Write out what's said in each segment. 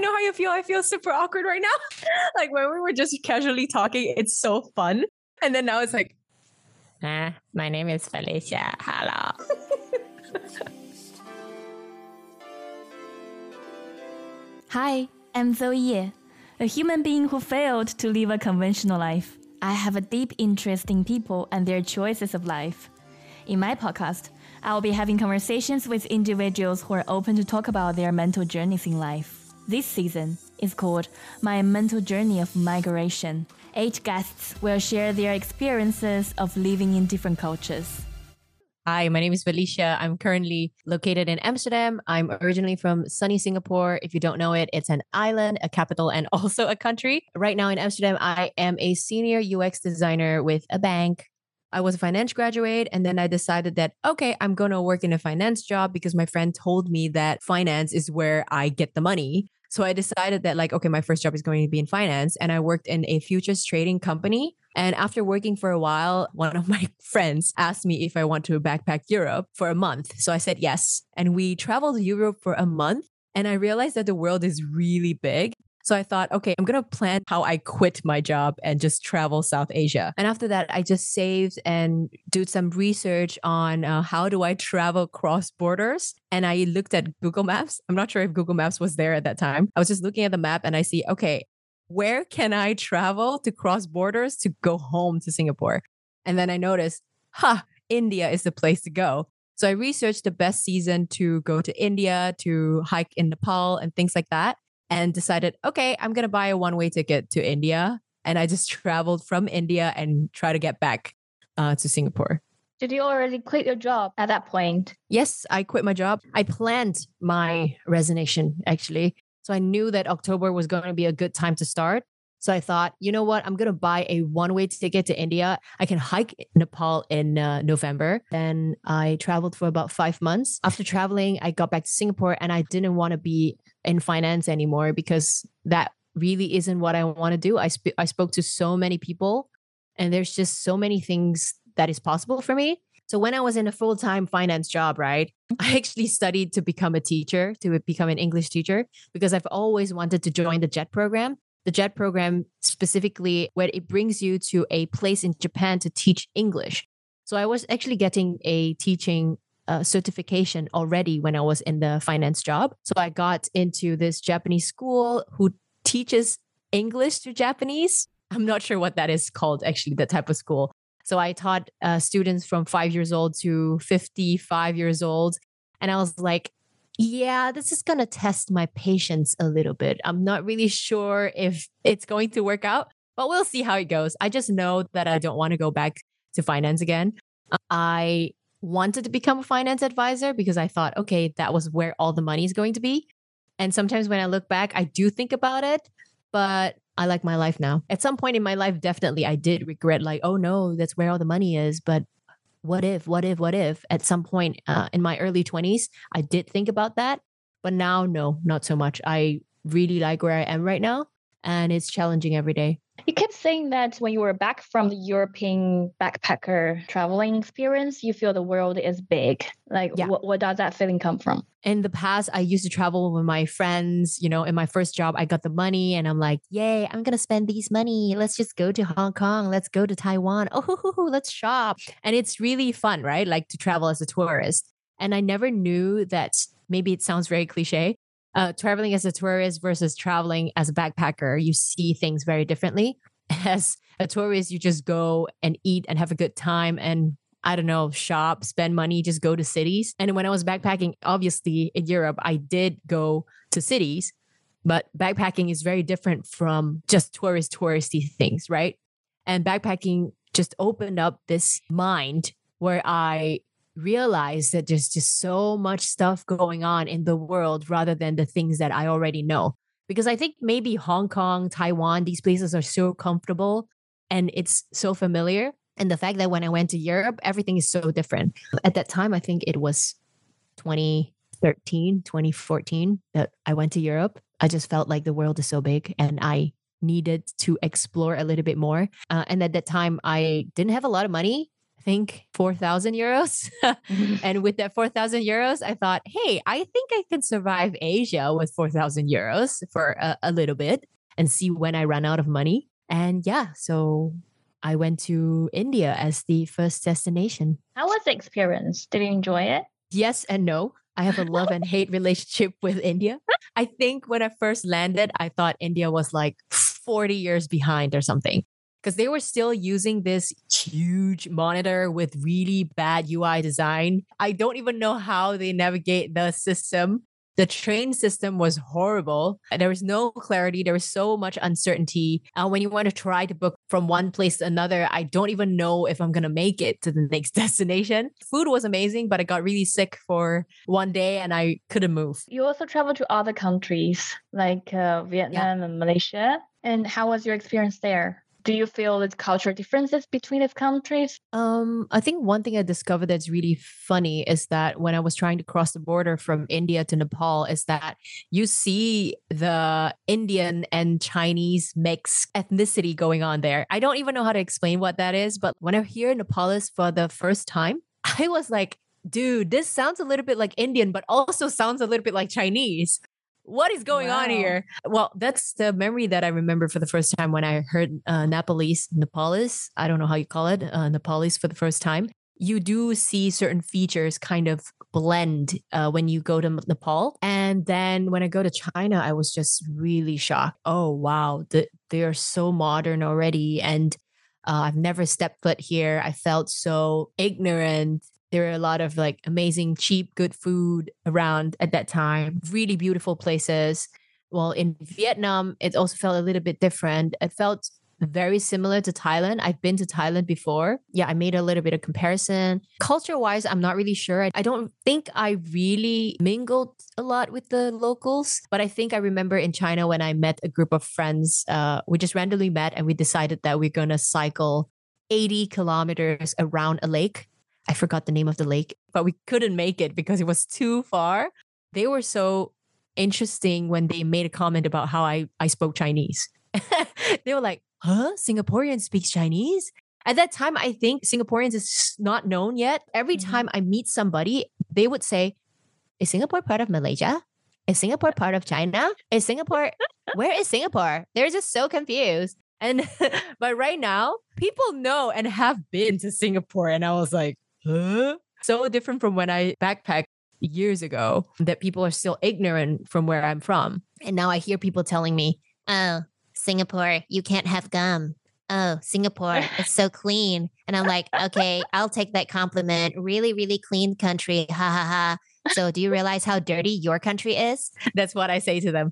know how you feel. I feel super awkward right now. Like when we were just casually talking, it's so fun. And then now it's like, my name is Felicia. Hello. Hi, I'm Zoe Ye, a human being who failed to live a conventional life. I have a deep interest in people and their choices of life. In my podcast, I'll be having conversations with individuals who are open to talk about their mental journeys in life. This season is called My Mental Journey of Migration. 8 guests will share their experiences of living in different cultures. Hi, my name is Felicia. I'm currently located in Amsterdam. I'm originally from sunny Singapore. If you don't know it, it's an island, a capital, and also a country. Right now in Amsterdam, I am a senior UX designer with a bank. I was a finance graduate, and then I decided that, okay, I'm going to work in a finance job because my friend told me that finance is where I get the money. So I decided that okay, my first job is going to be in finance, and I worked in a futures trading company. And after working for a while, one of my friends asked me if I want to backpack Europe for a month. So I said yes. And we traveled Europe for a month. And I realized that the world is really big. So I thought, okay, I'm going to plan how I quit my job and just travel South Asia. And after that, I just saved and did some research on how do I travel cross borders. And I looked at Google Maps. I'm not sure if Google Maps was there at that time. I was just looking at the map and I see, okay, where can I travel to cross borders to go home to Singapore? And then I noticed, India is the place to go. So I researched the best season to go to India, to hike in Nepal and things like that. And decided, okay, I'm going to buy a one-way ticket to India. And I just traveled from India and try to get back to Singapore. Did you already quit your job at that point? Yes, I quit my job. I planned my resignation, actually. So I knew that October was going to be a good time to start. So I thought, you know what? I'm going to buy a one-way ticket to India. I can hike Nepal in November. Then I traveled for about 5 months. After traveling, I got back to Singapore and I didn't want to be in finance anymore because that really isn't what I want to do. I spoke to so many people and there's just so many things that is possible for me. So when I was in a full-time finance job, right, I actually studied to become a teacher, to become an English teacher, because I've always wanted to join the JET program. The JET program specifically where it brings you to a place in Japan to teach English. So I was actually getting a teaching certification already when I was in the finance job. So I got into this Japanese school who teaches English to Japanese. I'm not sure what that is called, actually, that type of school. So I taught students from 5 years old to 55 years old. And I was like, yeah, this is going to test my patience a little bit. I'm not really sure if it's going to work out, but we'll see how it goes. I just know that I don't want to go back to finance again. I wanted to become a finance advisor because I thought, okay, that was where all the money is going to be. And sometimes when I look back, I do think about it, but I like my life now. At some point in my life, definitely I did regret oh no, that's where all the money is. But what if? At some point in my early 20s, I did think about that. But now, no, not so much. I really like where I am right now. And it's challenging every day. You kept saying that when you were back from the European backpacker traveling experience, you feel the world is big. What does that feeling come from? In the past, I used to travel with my friends. You know, in my first job, I got the money and I'm like, yay, I'm going to spend these money. Let's just go to Hong Kong. Let's go to Taiwan. Oh, let's shop. And it's really fun, right? Like to travel as a tourist. And I never knew that, maybe it sounds very cliche, traveling as a tourist versus traveling as a backpacker, you see things very differently. As a tourist, you just go and eat and have a good time and, I don't know, shop, spend money, just go to cities. And when I was backpacking, obviously in Europe, I did go to cities, but backpacking is very different from just touristy things, right? And backpacking just opened up this mind where I realize that there's just so much stuff going on in the world rather than the things that I already know. Because I think maybe Hong Kong, Taiwan, these places are so comfortable and it's so familiar. And the fact that when I went to Europe, everything is so different. At that time, I think it was 2013, 2014 that I went to Europe. I just felt like the world is so big and I needed to explore a little bit more. And at that time, I didn't have a lot of money. think 4,000 euros. And with that 4,000 euros, I thought, hey, I think I can survive Asia with 4,000 euros for a little bit and see when I run out of money. And yeah, so I went to India as the first destination. How was the experience? Did you enjoy it? Yes and no. I have a love and hate relationship with India. I think when I first landed, I thought India was like 40 years behind or something because they were still using this huge monitor with really bad UI design. I don't even know how they navigate the system. The train system was horrible. There was no clarity. There was so much uncertainty. When you want to try to book from one place to another, I don't even know if I'm going to make it to the next destination. Food was amazing, but I got really sick for one day and I couldn't move. You also traveled to other countries like Vietnam and Malaysia. And how was your experience there? Do you feel there's cultural differences between these countries? I think one thing I discovered that's really funny is that when I was trying to cross the border from India to Nepal, is that you see the Indian and Chinese mixed ethnicity going on there. I don't even know how to explain what that is, but when I hear Nepalese for the first time, I was like, dude, this sounds a little bit like Indian, but also sounds a little bit like Chinese. What is going on here? Well, that's the memory that I remember for the first time when I heard Nepalese. I don't know how you call it, Nepalese for the first time. You do see certain features kind of blend when you go to Nepal. And then when I go to China, I was just really shocked. Oh, wow, they are so modern already. And I've never stepped foot here. I felt so ignorant. There are a lot of like amazing, cheap, good food around at that time. Really beautiful places. Well, in Vietnam, it also felt a little bit different. It felt very similar to Thailand. I've been to Thailand before. Yeah, I made a little bit of comparison. Culture-wise, I'm not really sure. I don't think I really mingled a lot with the locals. But I think I remember in China when I met a group of friends, we just randomly met and we decided that we're going to cycle 80 kilometers around a lake. I forgot the name of the lake, but we couldn't make it because it was too far. They were so interesting when they made a comment about how I spoke Chinese. They were like, huh? Singaporeans speak Chinese? At that time, I think Singaporeans is not known yet. Every time I meet somebody, they would say, is Singapore part of Malaysia? Is Singapore part of China? Is Singapore, where is Singapore? They're just so confused. And, but right now, people know and have been to Singapore. And I was like, huh? So different from when I backpacked years ago that people are still ignorant from where I'm from. And now I hear people telling me, oh, Singapore, you can't have gum. Oh, Singapore, it's so clean. And I'm like, okay, I'll take that compliment. Really, really clean country. Ha ha ha. So do you realize how dirty your country is? That's what I say to them.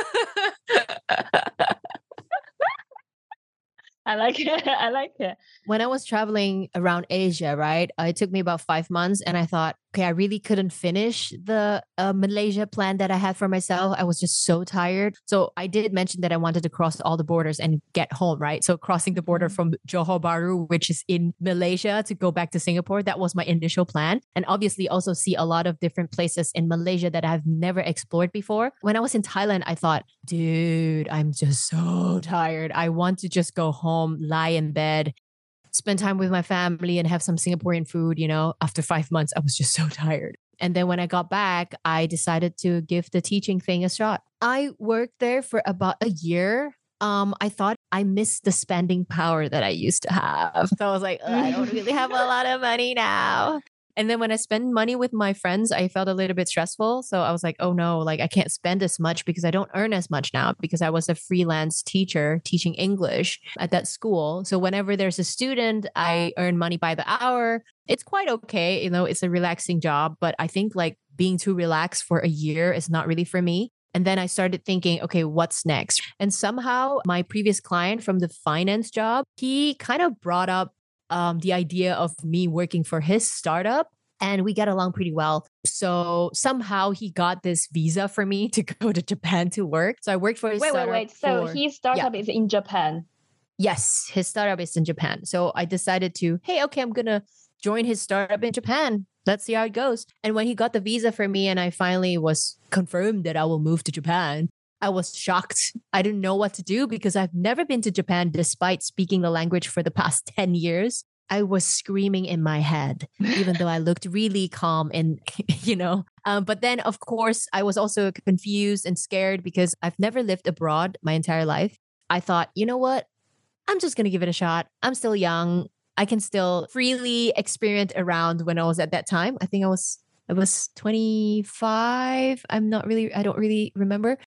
I like it. I like it. When I was traveling around Asia, right, it took me about 5 months and I thought, okay, I really couldn't finish the Malaysia plan that I had for myself. I was just so tired. So I did mention that I wanted to cross all the borders and get home, right? So crossing the border from Johor Bahru, which is in Malaysia, to go back to Singapore, that was my initial plan. And obviously also see a lot of different places in Malaysia that I've never explored before. When I was in Thailand, I thought, dude, I'm just so tired. I want to just go home, lie in bed, spend time with my family and have some Singaporean food. You know, after 5 months, I was just so tired. And then when I got back, I decided to give the teaching thing a shot. I worked there for about a year. I thought I missed the spending power that I used to have. So I was like, I don't really have a lot of money now. And then when I spend money with my friends, I felt a little bit stressful. So I was like, oh no, like I can't spend as much because I don't earn as much now because I was a freelance teacher teaching English at that school. So whenever there's a student, I earn money by the hour. It's quite okay. You know, it's a relaxing job, but I think like being too relaxed for a year is not really for me. And then I started thinking, okay, what's next? And somehow my previous client from the finance job, he kind of brought up the idea of me working for his startup and we get along pretty well. So somehow he got this visa for me to go to Japan to work. So I worked for his startup. Wait. So his startup is in Japan? Yes, his startup is in Japan. So I decided to, hey, okay, I'm going to join his startup in Japan. Let's see how it goes. And when he got the visa for me and I finally was confirmed that I will move to Japan, I was shocked. I didn't know what to do because I've never been to Japan despite speaking the language for the past 10 years. I was screaming in my head, even though I looked really calm and, but then of course I was also confused and scared because I've never lived abroad my entire life. I thought, you know what? I'm just going to give it a shot. I'm still young. I can still freely experience around when I was at that time. I think I was 25. I don't really remember.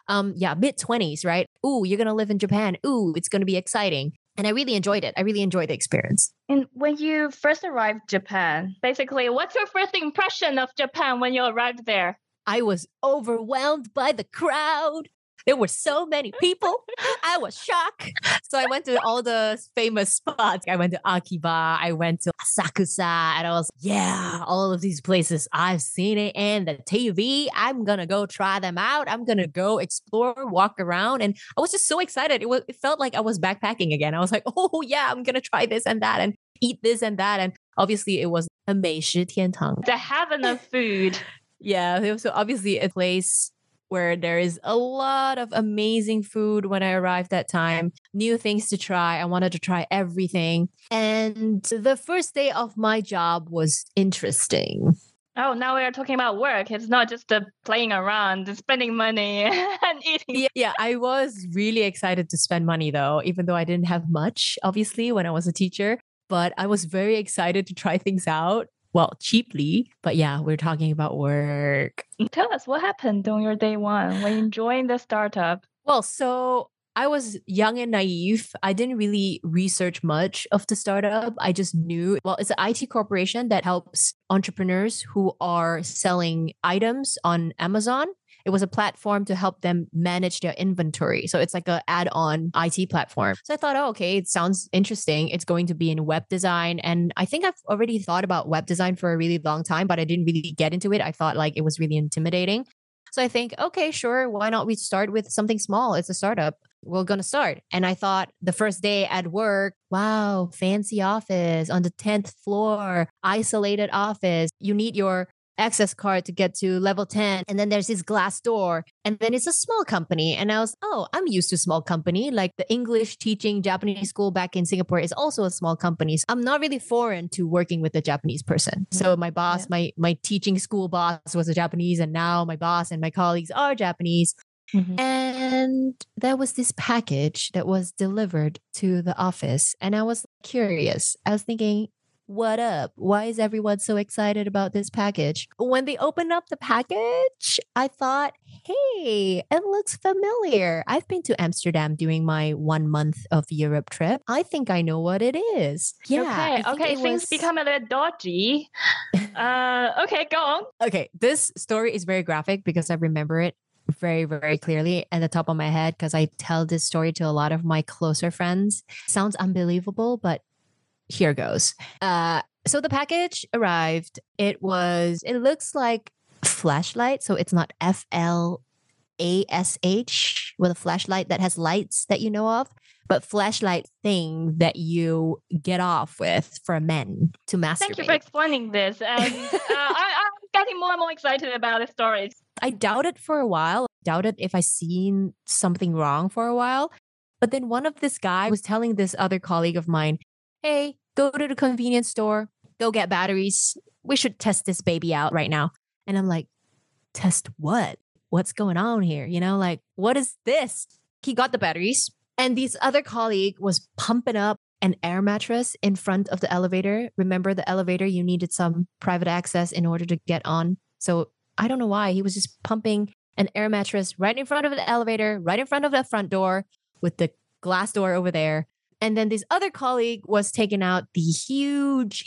Mid 20s, right? Ooh, you're going to live in Japan. Ooh, it's going to be exciting. And I really enjoyed it. I really enjoyed the experience. And when you first arrived Japan, basically, what's your first impression of Japan when you arrived there? I was overwhelmed by the crowd. There were so many people. I was shocked. So I went to all the famous spots. I went to Akiba. I went to Asakusa. And I was, all of these places. I've seen it in the TV. I'm going to go try them out. I'm going to go explore, walk around. And I was just so excited. It felt like I was backpacking again. I was like, oh yeah, I'm going to try this and that and eat this and that. And obviously it was a 美食天堂. The heaven of food. Yeah. It was obviously a place where there is a lot of amazing food when I arrived that time, new things to try. I wanted to try everything. And the first day of my job was interesting. Oh, now we are talking about work. It's not just playing around, spending money and eating. Yeah, I was really excited to spend money though, even though I didn't have much, obviously, when I was a teacher. But I was very excited to try things out. Well, cheaply, but yeah, we're talking about work. Tell us what happened on your day one when you joined the startup. Well, so I was young and naive. I didn't really research much of the startup. I just knew, it's an IT corporation that helps entrepreneurs who are selling items on Amazon. It was a platform to help them manage their inventory. So it's like an add-on IT platform. So I thought, okay, it sounds interesting. It's going to be in web design. And I think I've already thought about web design for a really long time, but I didn't really get into it. I thought like it was really intimidating. So I think, okay, sure. Why not we start with something small? It's a startup. We're going to start. And I thought the first day at work, wow, fancy office on the 10th floor, isolated office. You need your access card to get to level 10. And then there's this glass door. And then it's a small company. And I was, I'm used to small company. Like the English teaching Japanese school back in Singapore is also a small company. So I'm not really foreign to working with a Japanese person. So my boss, my teaching school boss was a Japanese. And now my boss and my colleagues are Japanese. Mm-hmm. And there was this package that was delivered to the office. And I was curious. I was thinking, what up? Why is everyone so excited about this package? When they opened up the package, I thought, hey, it looks familiar. I've been to Amsterdam during my 1 month of Europe trip. I think I know what it is. Yeah. Okay. Things become a little dodgy. Okay, go on. Okay. This story is very graphic because I remember it very, very clearly at the top of my head because I tell this story to a lot of my closer friends. Sounds unbelievable, but here goes. So the package arrived. It looks like flashlight. So it's not FLASH with a flashlight that has lights that you know of, but flashlight thing that you get off with for men to masturbate. Thank you for explaining this. And I'm getting more and more excited about the stories. I doubted for a while. Doubted if I seen something wrong for a while. But then one of this guy was telling this other colleague of mine, hey, go to the convenience store, go get batteries. We should test this baby out right now. And I'm like, test what? What's going on here? Like, what is this? He got the batteries. And this other colleague was pumping up an air mattress in front of the elevator. Remember the elevator, you needed some private access in order to get on. So I don't know why. He was just pumping an air mattress right in front of the elevator, right in front of the front door with the glass door over there. And then this other colleague was taking out the huge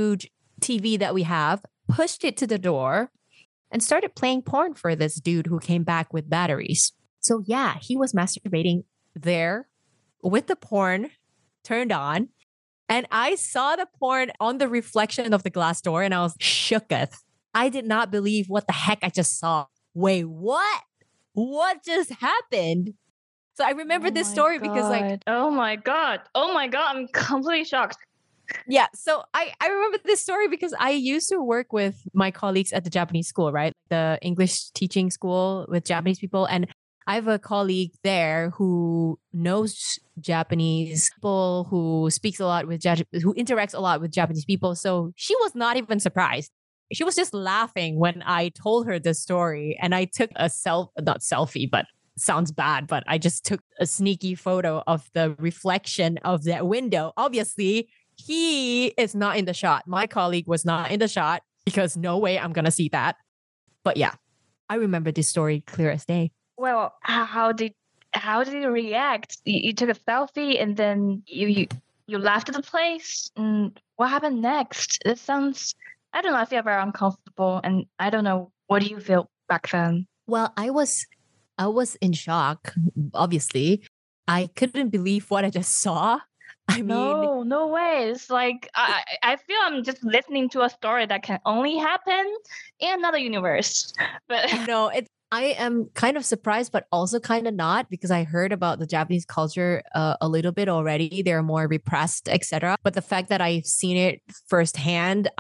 TV that we have, pushed it to the door, and started playing porn for this dude who came back with batteries. So yeah, he was masturbating there with the porn turned on. And I saw the porn on the reflection of the glass door and I was shooketh. I did not believe what the heck I just saw. Wait, what? What just happened? So I remember this story because oh my God, I'm completely shocked. Yeah. So I remember this story because I used to work with my colleagues at the Japanese school, right? The English teaching school with Japanese people. And I have a colleague there who knows Japanese people, who speaks a lot with who interacts a lot with Japanese people. So she was not even surprised. She was just laughing when I told her the story, and I took a not selfie, but sounds bad, but I just took a sneaky photo of the reflection of that window. Obviously, he is not in the shot. My colleague was not in the shot because no way I'm going to see that. But yeah, I remember this story clear as day. Well, how did you react? You took a selfie and then you left the place. And what happened next? It sounds, I don't know, I feel very uncomfortable, and I don't know, what do you feel back then? Well, I was in shock, obviously. I couldn't believe what I just saw. I mean, no way. It's like I feel I'm just listening to a story that can only happen in another universe. But no, I am kind of surprised, but also kind of not, because I heard about the Japanese culture a little bit already. They're more repressed, etc. But the fact that I've seen it firsthand,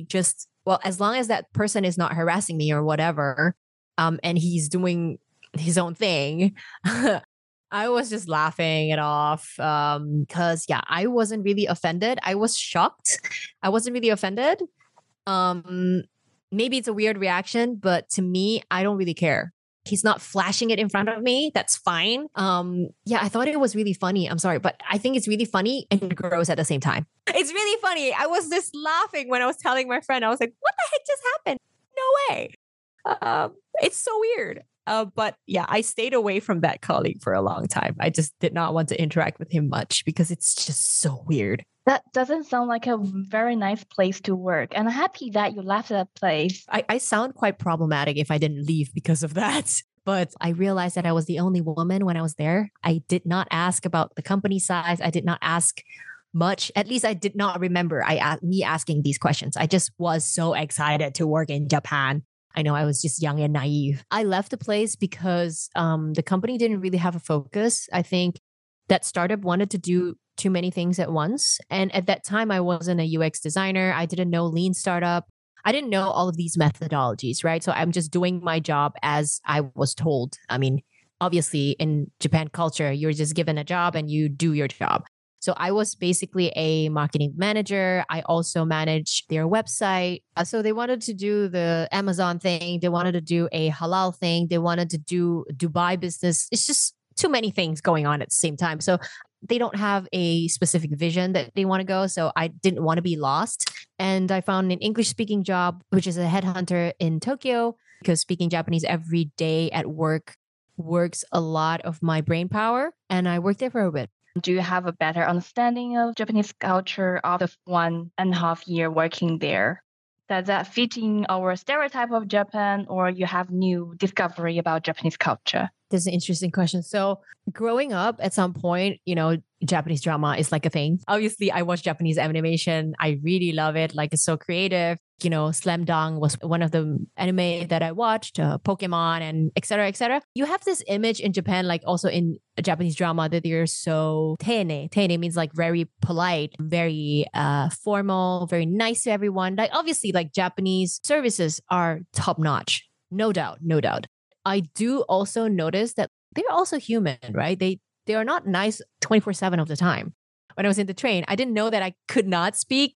as long as that person is not harassing me or whatever, and he's doing his own thing, I was just laughing it off because, I wasn't really offended. I was shocked. I wasn't really offended. Maybe it's a weird reaction, but to me, I don't really care. He's not flashing it in front of me. That's fine. I thought it was really funny. I'm sorry, but I think it's really funny and gross at the same time. It's really funny. I was just laughing when I was telling my friend. I was like, what the heck just happened? No way. It's so weird. But yeah, I stayed away from that colleague for a long time. I just did not want to interact with him much because it's just so weird. That doesn't sound like a very nice place to work. And I'm happy that you left that place. I sound quite problematic if I didn't leave because of that. But I realized that I was the only woman when I was there. I did not ask about the company size. I did not ask much. At least I did not remember me asking these questions. I just was so excited to work in Japan. I know I was just young and naive. I left the place because the company didn't really have a focus. I think that startup wanted to do too many things at once. And at that time, I wasn't a UX designer. I didn't know lean startup. I didn't know all of these methodologies, right? So I'm just doing my job as I was told. I mean, obviously in Japan culture, you're just given a job and you do your job. So I was basically a marketing manager. I also managed their website. So they wanted to do the Amazon thing. They wanted to do a halal thing. They wanted to do Dubai business. It's just too many things going on at the same time. So they don't have a specific vision that they want to go. So I didn't want to be lost. And I found an English speaking job, which is a headhunter in Tokyo, because speaking Japanese every day at work works a lot of my brain power. And I worked there for a bit. Do you have a better understanding of Japanese culture after 1.5 years working there? Does that fit in our stereotype of Japan, or you have new discovery about Japanese culture? This is an interesting question. So growing up at some point, Japanese drama is like a thing. Obviously, I watch Japanese animation. I really love it. Like, it's so creative. Slam Dunk was one of the anime that I watched, Pokemon and et cetera, et cetera. You have this image in Japan, like also in Japanese drama, that they're so teine. Teine means like very polite, very formal, very nice to everyone. Like, obviously, like Japanese services are top notch. No doubt, no doubt. I do also notice that they're also human, right? They are not nice 24/7 of the time. When I was in the train, I didn't know that I could not speak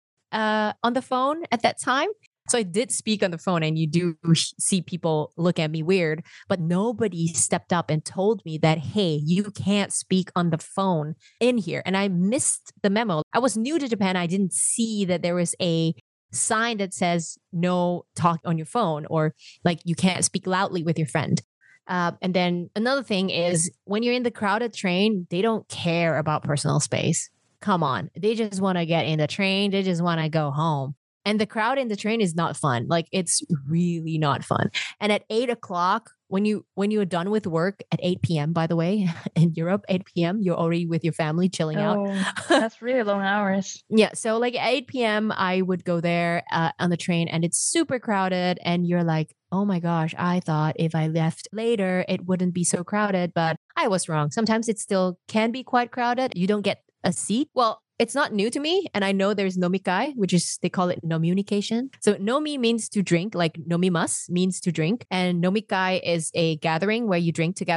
on the phone at that time. So I did speak on the phone, and you do see people look at me weird, but nobody stepped up and told me that, hey, you can't speak on the phone in here. And I missed the memo. I was new to Japan. I didn't see that there was a sign that says no talk on your phone, or like you can't speak loudly with your friend. And then another thing is, when you're in the crowded train, they don't care about personal space. Come on. They just want to get in the train. They just want to go home. And the crowd in the train is not fun. Like, it's really not fun. And at 8:00, when you're done with work at 8 p.m., by the way, in Europe, 8 p.m., you're already with your family chilling out. That's really long hours. Yeah. So like at 8 p.m., I would go there on the train, and it's super crowded. And you're like, oh my gosh, I thought if I left later, it wouldn't be so crowded. But I was wrong. Sometimes it still can be quite crowded. You don't get a seat. Well, it's not new to me. And I know there's nomikai, which is, they call it nomiunication. So nomi means to drink, like nomimas means to drink. And nomikai is a gathering where you drink together.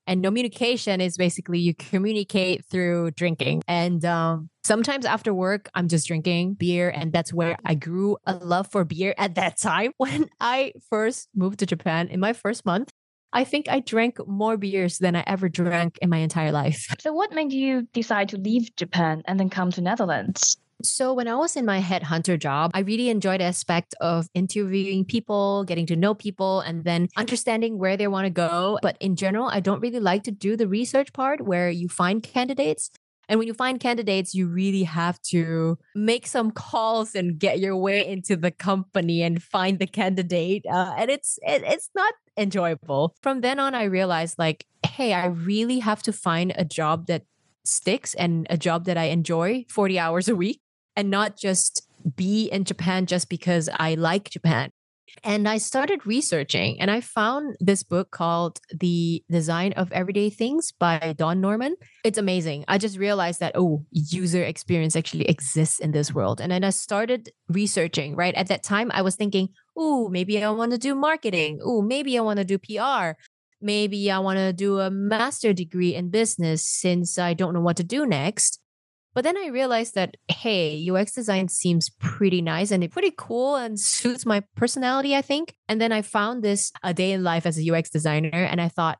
And communication is basically you communicate through drinking. And sometimes after work, I'm just drinking beer. And that's where I grew a love for beer at that time. When I first moved to Japan in my first month, I think I drank more beers than I ever drank in my entire life. So what made you decide to leave Japan and then come to Netherlands? So when I was in my headhunter job, I really enjoyed the aspect of interviewing people, getting to know people, and then understanding where they want to go. But in general, I don't really like to do the research part where you find candidates. And when you find candidates, you really have to make some calls and get your way into the company and find the candidate. And it's not enjoyable. From then on, I realized like, hey, I really have to find a job that sticks and a job that I enjoy 40 hours a week and not just be in Japan just because I like Japan. And I started researching and I found this book called The Design of Everyday Things by Don Norman. It's amazing. I just realized that, user experience actually exists in this world. And then I started researching, right? At that time, I was thinking, maybe I want to do marketing. Maybe I want to do PR. Maybe I want to do a master degree in business since I don't know what to do next. But then I realized that, hey, UX design seems pretty nice and it's pretty cool and suits my personality, I think. And then I found this A Day in Life as a UX designer and I thought,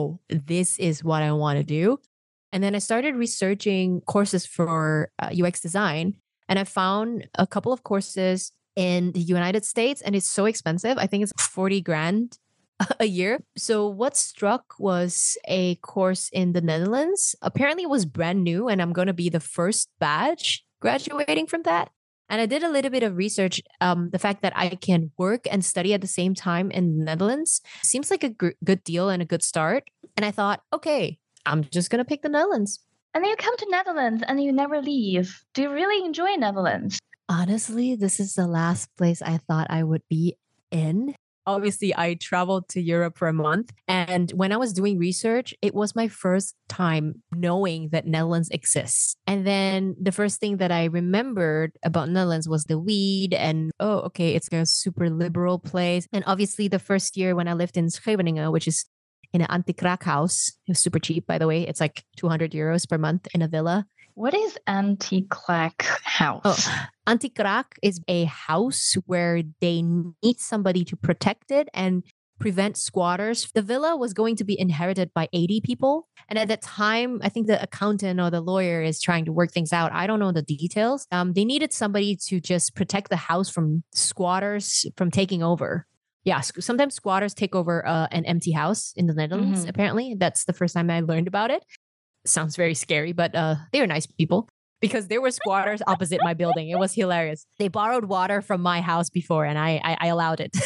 this is what I want to do. And then I started researching courses for UX design and I found a couple of courses in the United States and it's so expensive. I think it's 40 grand a year. So what struck was a course in the Netherlands. Apparently it was brand new and I'm going to be the first batch graduating from that. And I did a little bit of research. The fact that I can work and study at the same time in the Netherlands seems like a good deal and a good start. And I thought, okay, I'm just going to pick the Netherlands. And then you come to Netherlands and you never leave. Do you really enjoy Netherlands? Honestly, this is the last place I thought I would be in. Obviously, I traveled to Europe for a month. And when I was doing research, it was my first time knowing that Netherlands exists. And then the first thing that I remembered about Netherlands was the weed and, it's a super liberal place. And obviously, the first year when I lived in Scheveningen, which is in an anti-kraak house, it was super cheap, by the way. It's like 200 euros per month in a villa. What is anti-kraak house? Anti-kraak is a house where they need somebody to protect it and prevent squatters. The villa was going to be inherited by 80 people. And at that time, I think the accountant or the lawyer is trying to work things out. I don't know the details. They needed somebody to just protect the house from squatters from taking over. Yeah, sometimes squatters take over an empty house in the Netherlands, apparently. That's the first time I learned about it. Sounds very scary, but they were nice people because there were squatters opposite my building. It was hilarious. They borrowed water from my house before and I allowed it.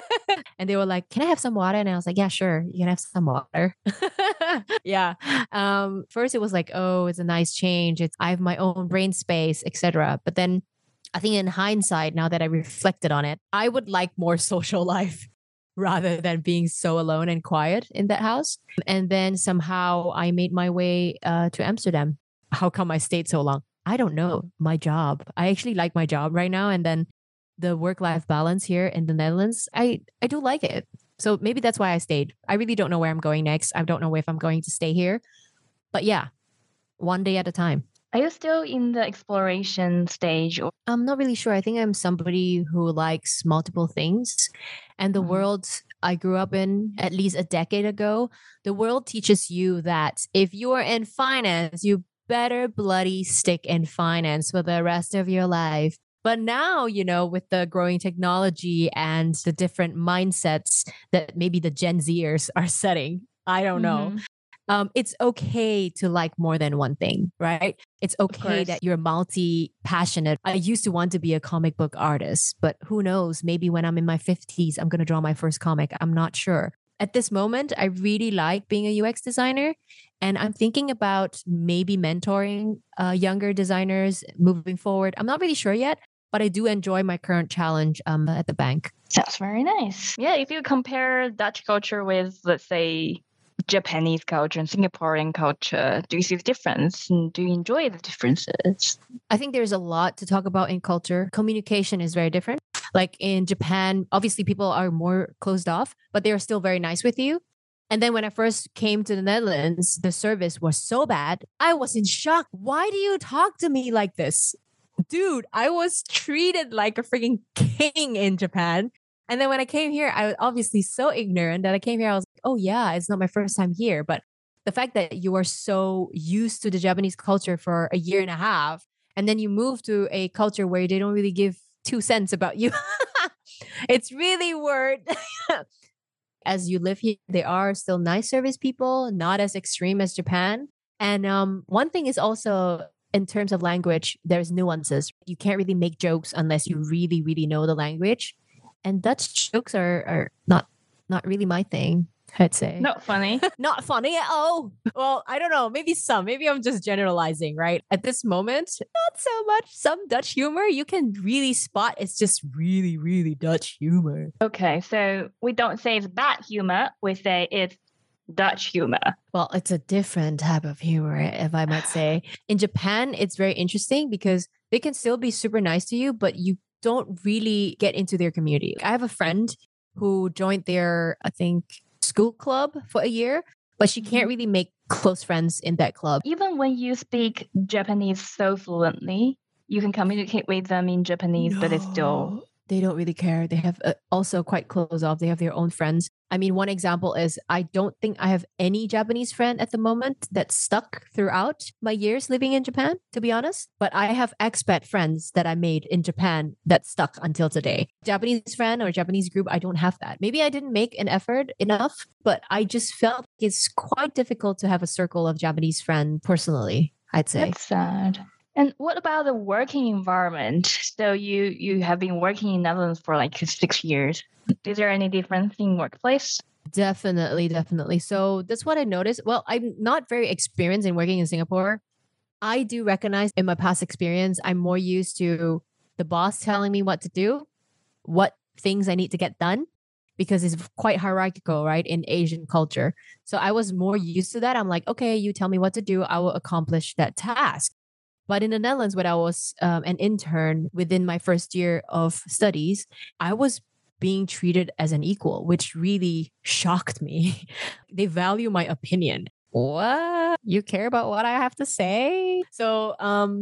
And they were like, can I have some water? And I was like, yeah, sure. You can have some water. Yeah. First it was like, it's a nice change. I have my own brain space, etc. But then I think in hindsight, now that I reflected on it, I would like more social life rather than being so alone and quiet in that house. And then somehow I made my way to Amsterdam. How come I stayed so long? I don't know. My job. I actually like my job right now. And then the work-life balance here in the Netherlands, I do like it. So maybe that's why I stayed. I really don't know where I'm going next. I don't know if I'm going to stay here. But yeah, one day at a time. Are you still in the exploration stage? I'm not really sure. I think I'm somebody who likes multiple things. And the world I grew up in at least a decade ago, the world teaches you that if you are in finance, you better bloody stick in finance for the rest of your life. But now, with the growing technology and the different mindsets that maybe the Gen Zers are setting, I don't know. It's okay to like more than one thing, right? It's okay that you're multi-passionate. I used to want to be a comic book artist, but who knows? Maybe when I'm in my 50s, I'm going to draw my first comic. I'm not sure. At this moment, I really like being a UX designer. And I'm thinking about maybe mentoring younger designers moving forward. I'm not really sure yet, but I do enjoy my current challenge at the bank. Sounds very nice. Yeah, if you compare Dutch culture with, let's say, Japanese culture and Singaporean culture, do you see the difference? And do you enjoy the differences? I think there's a lot to talk about in culture. Communication is very different. Like in Japan, obviously people are more closed off, but they're still very nice with you. And then when I first came to the Netherlands, the service was so bad. I was in shock. Why do you talk to me like this? Dude, I was treated like a freaking king in Japan. And then when I came here, I was obviously so ignorant that I came here. I was like, oh, yeah, it's not my first time here. But the fact that you are so used to the Japanese culture for a year and a half, and then you move to a culture where they don't really give 2 cents about you. It's really weird. As you live here, they are still nice service people, not as extreme as Japan. And one thing is also in terms of language, there's nuances. You can't really make jokes unless you really, really know the language. And Dutch jokes are not really my thing, I'd say. Not funny. Not funny at all. Well, I don't know. Maybe some. Maybe I'm just generalizing, right? At this moment, not so much. Some Dutch humor you can really spot. It's just really, really Dutch humor. Okay, so we don't say it's bad humor. We say it's Dutch humor. Well, it's a different type of humor, if I might say. In Japan, it's very interesting because they can still be super nice to you, but you don't really get into their community. I have a friend who joined their, I think, school club for a year, but she can't really make close friends in that club. Even when you speak Japanese so fluently, you can communicate with them in Japanese, but it's still... They don't really care. They have also quite closed off. They have their own friends. I mean, one example is I don't think I have any Japanese friend at the moment that stuck throughout my years living in Japan, to be honest. But I have expat friends that I made in Japan that stuck until today. Japanese friend or Japanese group, I don't have that. Maybe I didn't make an effort enough, but I just felt it's quite difficult to have a circle of Japanese friends personally, I'd say. That's sad. And what about the working environment? So you have been working in Netherlands for like 6 years. Is there any difference in workplace? Definitely. So that's what I noticed. Well, I'm not very experienced in working in Singapore. I do recognize in my past experience, I'm more used to the boss telling me what to do, what things I need to get done, because it's quite hierarchical, right, in Asian culture. So I was more used to that. I'm like, okay, you tell me what to do, I will accomplish that task. But in the Netherlands, when I was an intern within my first year of studies, I was being treated as an equal, which really shocked me. They value my opinion. What? You care about what I have to say? So,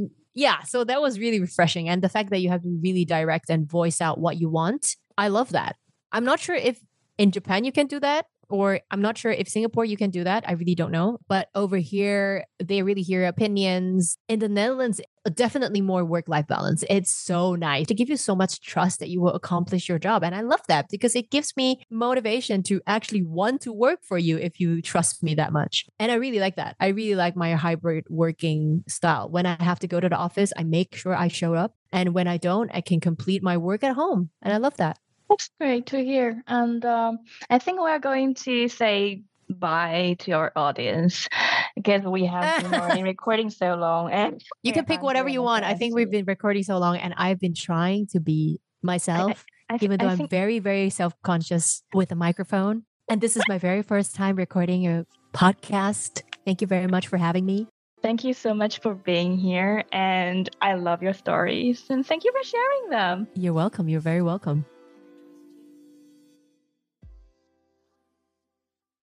so that was really refreshing. And the fact that you have to really direct and voice out what you want, I love that. I'm not sure if in Japan you can do that, or I'm not sure if Singapore you can do that. I really don't know. But over here, they really hear opinions. In the Netherlands, definitely more work-life balance. It's so nice to give you so much trust that you will accomplish your job. And I love that because it gives me motivation to actually want to work for you if you trust me that much. And I really like that. I really like my hybrid working style. When I have to go to the office, I make sure I show up. And when I don't, I can complete my work at home. And I love that. That's great to hear. And I think we're going to say bye to our audience because we have been already recording so long. And you can pick whatever you want. I think we've been recording so long and I've been trying to be myself, even though I'm very, very self-conscious with a microphone. And this is my very first time recording a podcast. Thank you very much for having me. Thank you so much for being here. And I love your stories. And thank you for sharing them. You're welcome. You're very welcome.